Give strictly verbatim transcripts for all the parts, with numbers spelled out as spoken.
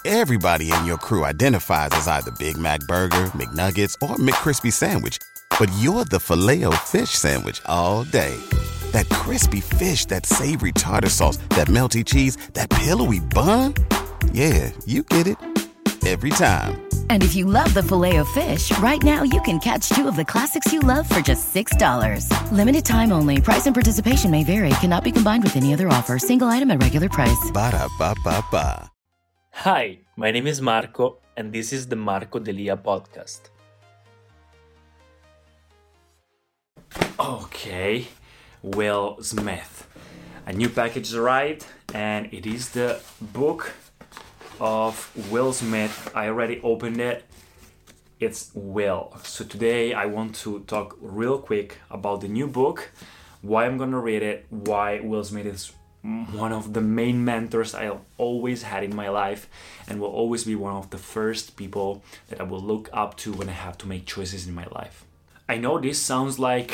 Everybody in your crew identifies as either Big Mac Burger, McNuggets, or McCrispy Sandwich. But you're the Filet-O-Fish Sandwich all day. That crispy fish, that savory tartar sauce, that melty cheese, that pillowy bun. Yeah, you get it. Every time. And if you love the Filet-O-Fish, right now you can catch two of the classics you love for just six dollars. Limited time only. Price and participation may vary. Cannot be combined with any other offer. Single item at regular price. Ba-da-ba-ba-ba. Hi, my name is Marco, and this is the Marco Delia podcast. Okay, Will Smith. A new package arrived, and it is the book of Will Smith. I already opened it. It's Will. So today I want to talk real quick about the new book, why I'm gonna read it, why Will Smith is one of the main mentors I've always had in my life and will always be one of the first people that I will look up to when I have to make choices in my life. I know this sounds like,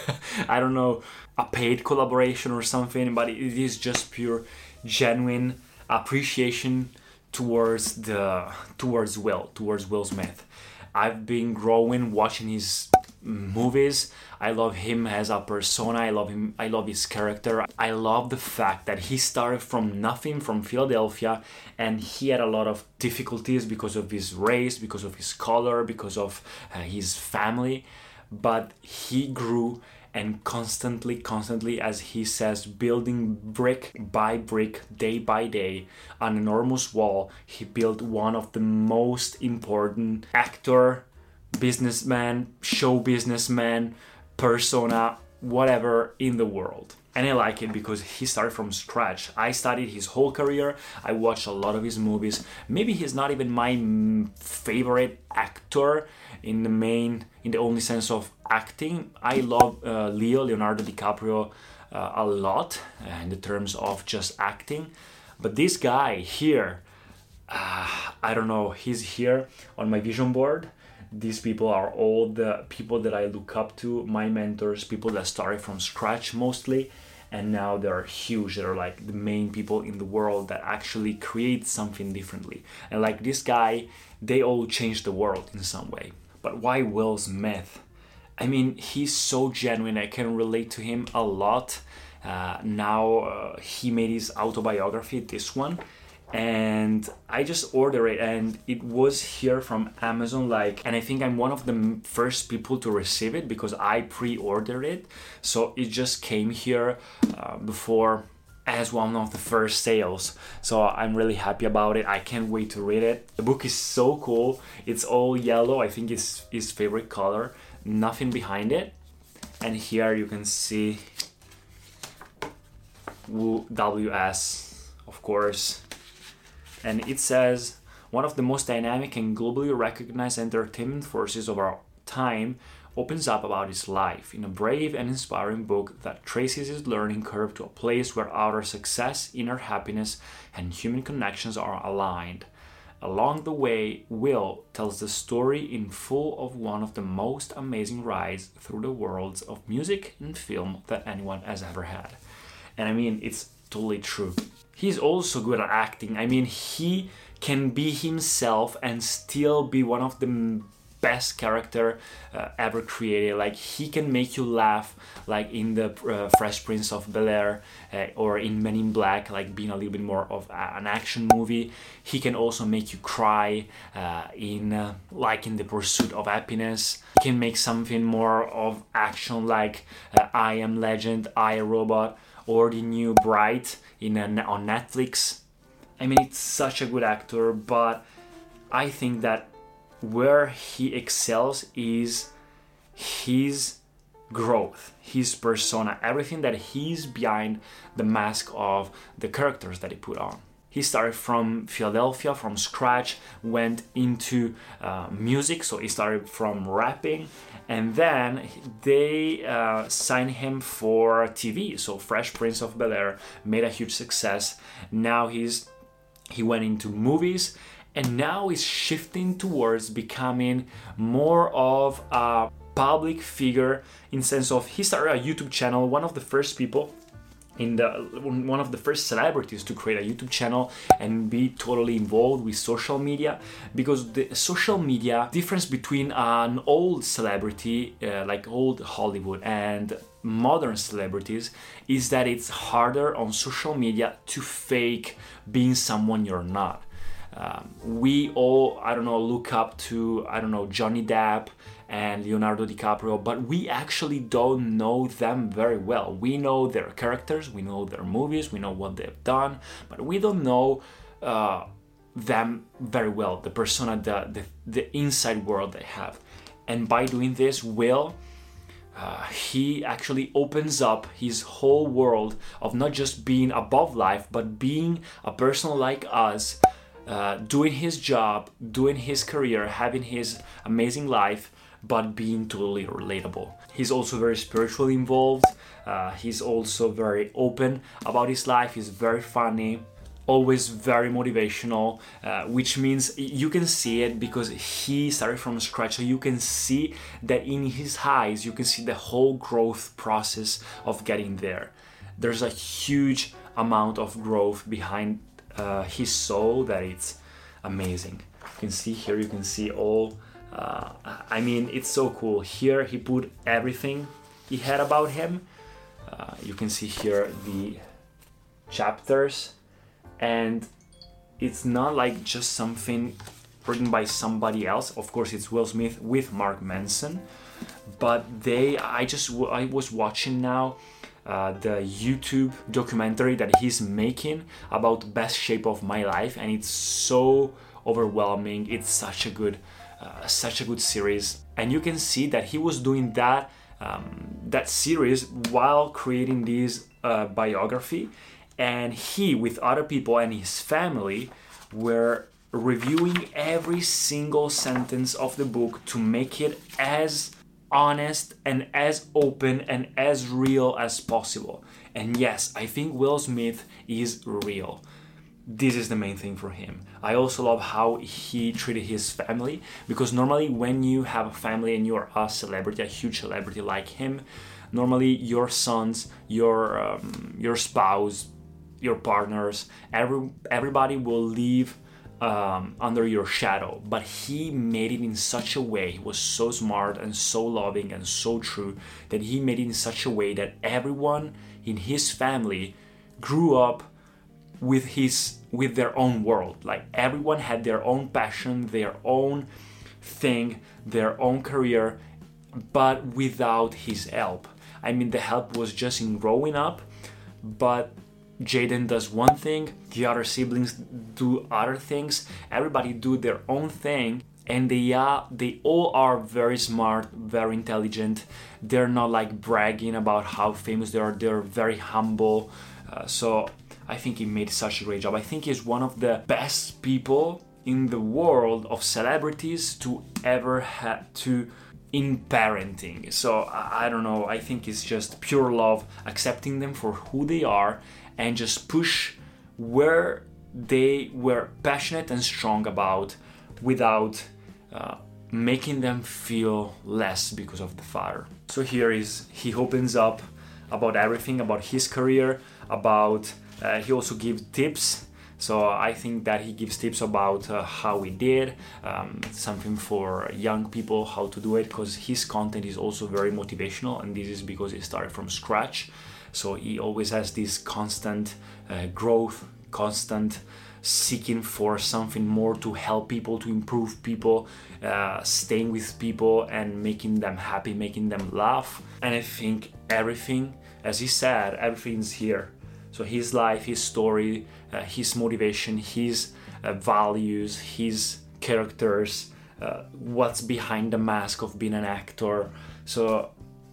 I don't know, a paid collaboration or something, but it is just pure, genuine appreciation towards the towards Will, towards Will Smith. I've been growing watching his movies. I love him as a persona. I love him. I love his character. I love the fact that he started from nothing, from Philadelphia, and he had a lot of difficulties because of his race, because of his color, because of uh, his family. But he grew and constantly, constantly, as he says, building brick by brick, day by day, an enormous wall. He built one of the most important actor, businessman, show businessman, persona, whatever in the world. And I like it because he started from scratch. I studied his whole career. I watched a lot of his movies. Maybe he's not even my favorite actor in the main, in the only sense of acting. I love uh, Leo, Leonardo DiCaprio, uh, a lot uh, in the terms of just acting. But this guy here, uh, I don't know, he's here on my vision board. These people are all the people that I look up to, my mentors, people that started from scratch mostly, and now they're huge. They're like the main people in the world that actually create something differently. And like this guy, they all changed the world in some way. But why Will Smith? I mean, he's so genuine. I can relate to him a lot. Uh, now uh, he made his autobiography, this one. And I just ordered it, and it was here from Amazon, like, and I think I'm one of the first people to receive it because I pre-ordered it. So it just came here uh, before as one of the first sales. So I'm really happy about it. I can't wait to read it. The book is so cool. It's all yellow. I think it's his favorite color. Nothing behind it. And here you can see W S, of course. And it says, one of the most dynamic and globally recognized entertainment forces of our time opens up about his life in a brave and inspiring book that traces his learning curve to a place where outer success, inner happiness, and human connections are aligned. Along the way, Will tells the story in full of one of the most amazing rides through the worlds of music and film that anyone has ever had. And I mean, it's totally true. He's also good at acting. I mean, he can be himself and still be one of the best character uh, ever created. Like, he can make you laugh, like in the uh, Fresh Prince of Bel-Air uh, or in Men in Black, like being a little bit more of a, an action movie. He can also make you cry uh, in uh, like in The Pursuit of Happiness. He can make something more of action, like uh, I Am Legend, I, Robot, or the new Bright in a, on Netflix. I mean, it's such a good actor, but I think that where he excels is his growth, his persona, everything that he's behind the mask of the characters that he put on. He started from Philadelphia, from scratch, went into uh, music, so he started from rapping, and then they uh, signed him for T V, so Fresh Prince of Bel-Air made a huge success. Now he's he went into movies, and now he's shifting towards becoming more of a public figure in sense of he started a YouTube channel, one of the first people in the one of the first celebrities to create a YouTube channel and be totally involved with social media, because the social media difference between an old celebrity uh, like old Hollywood and modern celebrities is that it's harder on social media to fake being someone you're not. Um, we all, I don't know, look up to, I don't know, Johnny Depp and Leonardo DiCaprio, but we actually don't know them very well. We know their characters, we know their movies, we know what they've done, but we don't know uh, them very well, the persona, the, the, the inside world they have. And by doing this, Will, uh, he actually opens up his whole world of not just being above life, but being a person like us, uh, doing his job, doing his career, having his amazing life, but being totally relatable. He's also very spiritually involved. Uh, he's also very open about his life. He's very funny, always very motivational, uh, which means you can see it because he started from scratch. So you can see that in his eyes, you can see the whole growth process of getting there. There's a huge amount of growth behind uh, his soul that it's amazing. You can see here, you can see all Uh, I mean, it's so cool. Here he put everything he had about him. Uh, you can see here the chapters, and it's not like just something written by somebody else. Of course, it's Will Smith with Mark Manson, but they, I just, I was watching now uh, the YouTube documentary that he's making about Best Shape of My Life, and it's so overwhelming. It's such a good Uh, such a good series, and you can see that he was doing that um, that series while creating this uh, biography, and he with other people and his family were reviewing every single sentence of the book to make it as honest and as open and as real as possible. And yes, I think Will Smith is real. This is the main thing for him. I also love how he treated his family, because normally when you have a family and you're a celebrity, a huge celebrity like him, normally your sons, your um, your spouse, your partners, every everybody will live um, under your shadow. But he made it in such a way, he was so smart and so loving and so true, that he made it in such a way that everyone in his family grew up with his with their own world. Like everyone had their own passion, their own thing, their own career, but without his help. I mean, the help was just in growing up, but Jaden does one thing, the other siblings do other things, everybody do their own thing, and they are they all are very smart, very intelligent. They're not like bragging about how famous they are. They're very humble. Uh, so I think he made such a great job. I think he's one of the best people in the world of celebrities to ever have to in parenting. So I, I don't know, I think it's just pure love, accepting them for who they are and just push where they were passionate and strong about without uh, making them feel less because of the father. So here is, he opens up about everything, about his career, about Uh, he also gives tips, so I think that he gives tips about uh, how he did, um, something for young people, how to do it, because his content is also very motivational, and this is because he started from scratch. So he always has this constant uh, growth, constant seeking for something more to help people, to improve people, uh, staying with people and making them happy, making them laugh. And I think everything, as he said, everything's here. So his life, his story, uh, his motivation, his uh, values, his characters, uh, what's behind the mask of being an actor. So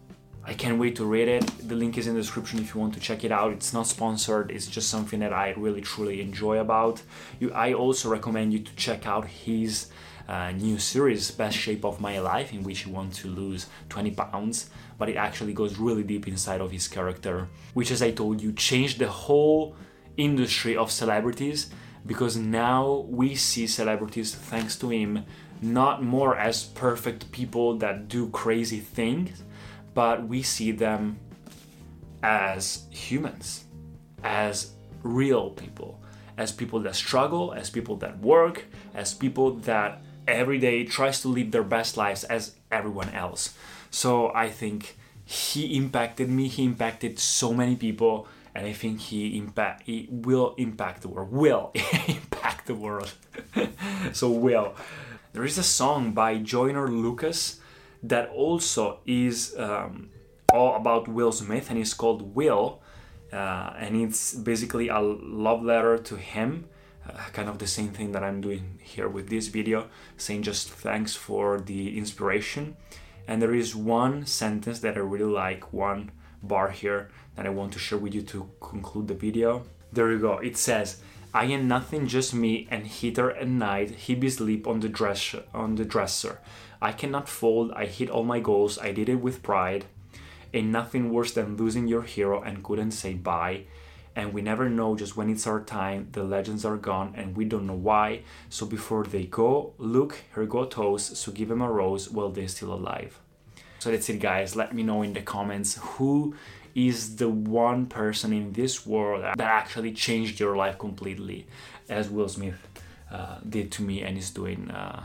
I can't wait to read it. The link is in the description if you want to check it out. It's not sponsored, it's just something that I really truly enjoy about. You, I also recommend you to check out his uh, new series, Best Shape of My Life, in which he wants to lose twenty pounds, but it actually goes really deep inside of his character, which, as I told you, changed the whole industry of celebrities, because now we see celebrities, thanks to him, not more as perfect people that do crazy things, but we see them as humans. as real people, as people that struggle, as people that work, as people that every day tries to live their best lives as everyone else. So I think he impacted me, he impacted so many people, and I think he impact he will impact the world. Will impact the world. So will. There is a song by Joyner Lucas that also is um, all about Will Smith, and it's called Will, uh, and it's basically a love letter to him, uh, kind of the same thing that I'm doing here with this video, saying just thanks for the inspiration. And there is one sentence that I really like, one bar here that I want to share with you to conclude the video. There you go. It says, "I am nothing, just me, and heater at night, he be sleep on the dress on the dresser. I cannot fold, I hit all my goals, I did it with pride. Ain't nothing worse than losing your hero and couldn't say bye. And we never know just when it's our time, the legends are gone and we don't know why. So before they go, look, here go toast, so give them a rose while they're still alive." So that's it, guys. Let me know in the comments who is the one person in this world that actually changed your life completely, as Will Smith uh, did to me and is doing uh,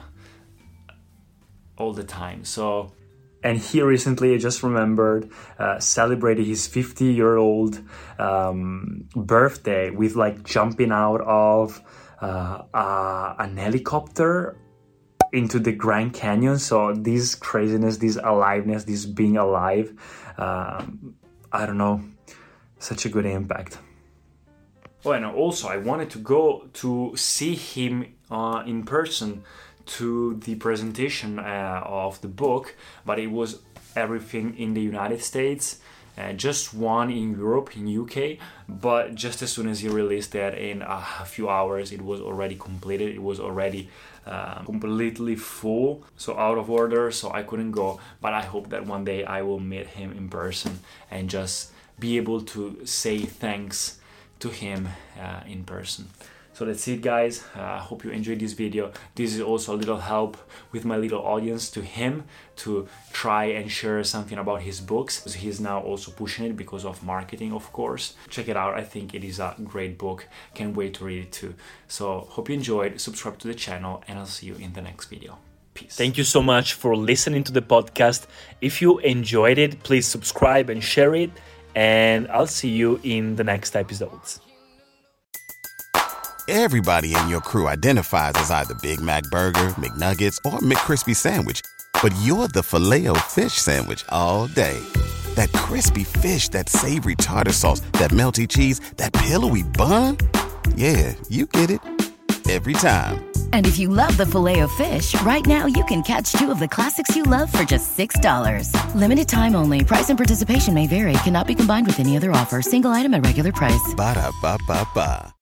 all the time. So, and he recently, I just remembered, uh, celebrated his fifty year old um, birthday with like jumping out of uh, uh, an helicopter into the Grand Canyon. So this craziness, this aliveness, this being alive, um, I don't know, such a good impact. Oh, and also I wanted to go to see him uh, in person to the presentation uh, of the book, but it was everything in the United States, uh, just one in Europe, in U K, but just as soon as he released that, in a few hours it was already completed, it was already uh, completely full, so out of order, so I couldn't go. But I hope that one day I will meet him in person and just be able to say thanks to him uh, in person. So that's it, guys. I uh, hope you enjoyed this video. This is also a little help with my little audience to him to try and share something about his books. He's now also pushing it because of marketing, of course. Check it out. I think it is a great book. Can't wait to read it too. So hope you enjoyed. Subscribe to the channel and I'll see you in the next video. Peace. Thank you so much for listening to the podcast. If you enjoyed it, please subscribe and share it. And I'll see you in the next episodes. Everybody in your crew identifies as either Big Mac Burger, McNuggets, or McCrispy Sandwich. But you're the Filet-O-Fish Sandwich all day. That crispy fish, that savory tartar sauce, that melty cheese, that pillowy bun. Yeah, you get it. Every time. And if you love the Filet-O-Fish, right now you can catch two of the classics you love for just six dollars. Limited time only. Price and participation may vary. Cannot be combined with any other offer. Single item at regular price. Ba-da-ba-ba-ba.